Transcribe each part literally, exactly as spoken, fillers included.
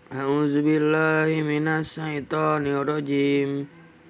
A'udzubillahi minasyaitonirrajim.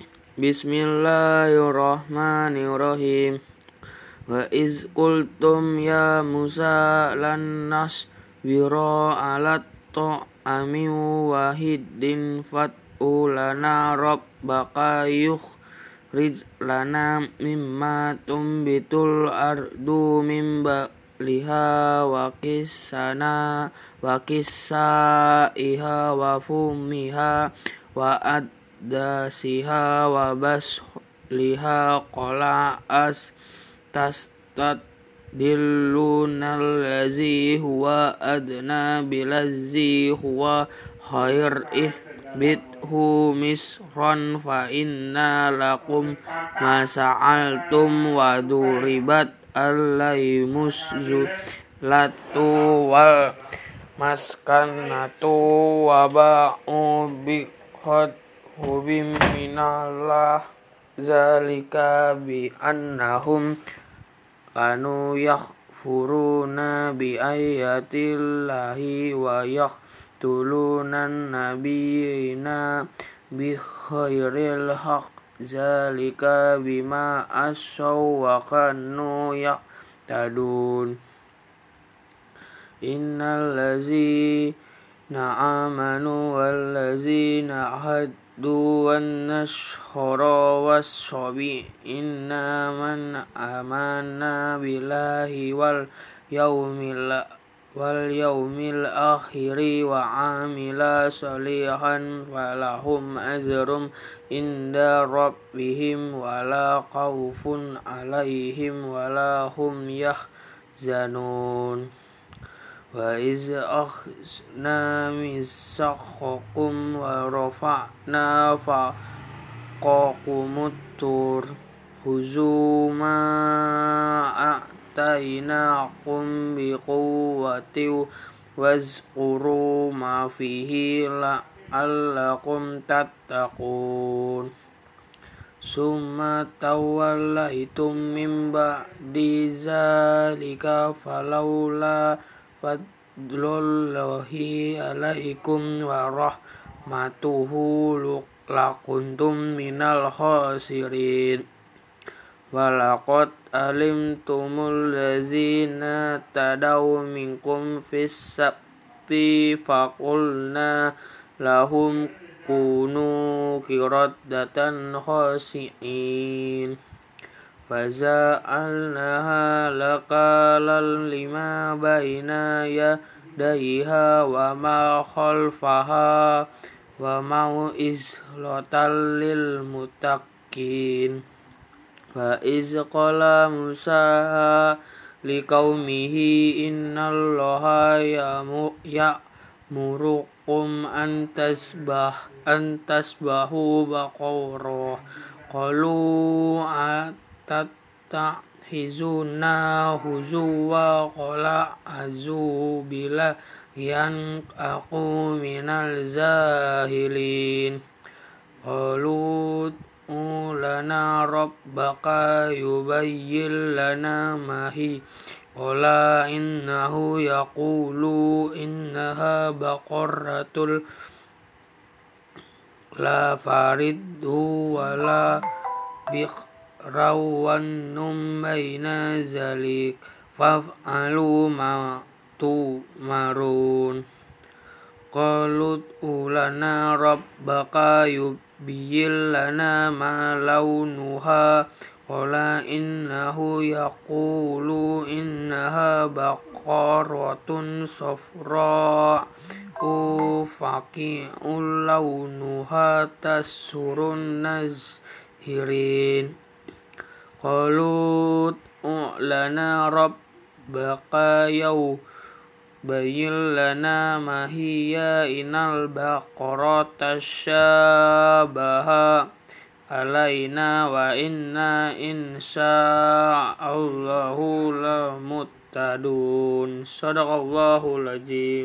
Bismillahirrahmanirrahim. Wa iz qultum ya Musa lan nasbira 'alat ta'ami wahidin fat'u lana rabbaka yukhrij lana mimma tumbitul ardu min liha wa kisana wa kisaiha wa fumiha wa addasiha wa basliha qala as tastat dillunal ladzi huwa adna bilazzi huwa khair ihbithu misran fa inna lakum masa'altum wa duribat alaimus zulatu wal maskanatu wa ba'u bi hubim minallah zalika bi annahum kanu yakfuruna bi ayatillahi wa yaqtuluna nabiyina bi khairil haqq zalika bima asaw wa kanu ya'tadun. Innal ladzina amanu wal ladzina haddu wan nasara was-sabi inna man amana billahi wal yaumil wal yaumil akhiri wa amila salihan falahum ajrum inda rabbihim wala khawfun alaihim wala hum yahzanun. Wa iz akhadna mitsaqakum wa rafa'na fawqakumut tur khuzu ma atainakum biquwwatin wazkuru ma fihi la'allakum tattaqun. Summa tawallaitum min ba'di zalika falawla fadlullahi alaikum wa rahmatuhu lakuntum minal khasirin. Walaqad alimtumul ladzina tadaw minkum fis sabti faqulna lahum kunu qiradatan khasi'in faza'alnaha laqalal lima baina yadayha wa ma khalfaha wa mau'izlatal lil muttaqin. Wa iz qala Musa liqaumihi innallaha ya'murukum an tasbah an tasbahu baqarah qalu atattahizuna huzuwa qala azu bila yan aku minal zahilin qalu lana rabbaka yubayyin lana mahi qala innahu yaqulu innaha baqaratul la faridhu wala bikhrawan num baina zalik faf'alu ma tumarun. Qalut ulana rabbaka yubayyin lana ma launuha qala innahu yaqulu innaha baqaratun safra faqi'un launuha tasurun nazhirin. Qalut lana rabbaka yaw bayyin lana ma hiya inal baqarata syabaha alaina wa inna insya'allahu lamuttadun. Shadaqallahul azim.